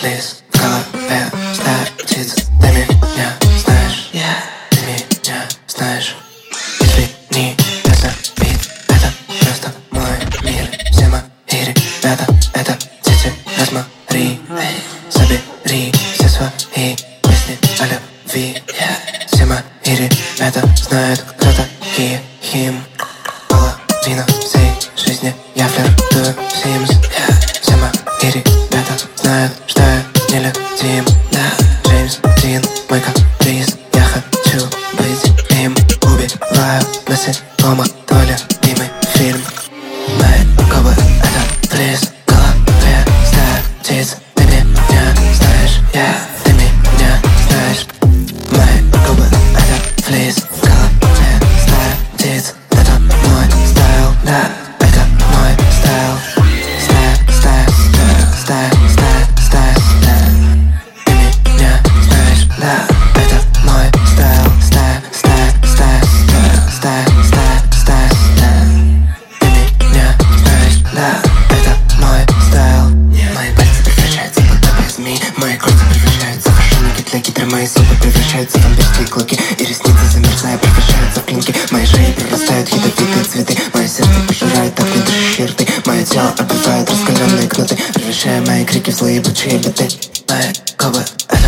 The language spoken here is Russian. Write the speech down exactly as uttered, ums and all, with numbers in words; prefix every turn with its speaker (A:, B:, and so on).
A: лес в голове стая птиц. Ты меня знаешь, yeah. Ты меня знаешь. Извини, это бит, это просто мой мир. Все мои ребята, это дети, рассмотри. Забери все свои песни о любви, yeah. Все мои ребята знают, кто такие хим. Половина всей жизни я флиртую с Sims, yeah. Все мои ребята знают, что я нелюдим, да. Джеймс Дин, мой каприз, я хочу быть им. Убиваю насекомых, твой любимый фильм. Мои губы — это флис в голове стая птиц. Ты меня знаешь, yeah. Ты меня знаешь. Мои губы — это флис в голове стая птиц. Это мой стайл, да. Это мой стайл. Стая, стая, стая, стая, стая, стая. Ты меня знаешь, да. Это мой стайл. Стая, стая, стая, стая, стая, стая, стая. Ты меня знаешь, да. Это мой стайл. Мои пальцы превращаются в подобие змей. Мои кольца превращаются в ошейники для гидры. Мои зубы превращаются в вампирские клыки. И ресницы, замерзая, превращаются в клинки. Мои шеи прорастают ядовитые цветы. Мое сердце пожирает огнедышащие рты. Мое тело обвивает раскаленные кнуты, превращая мои крики в злые ебучие биты. Мои губы — это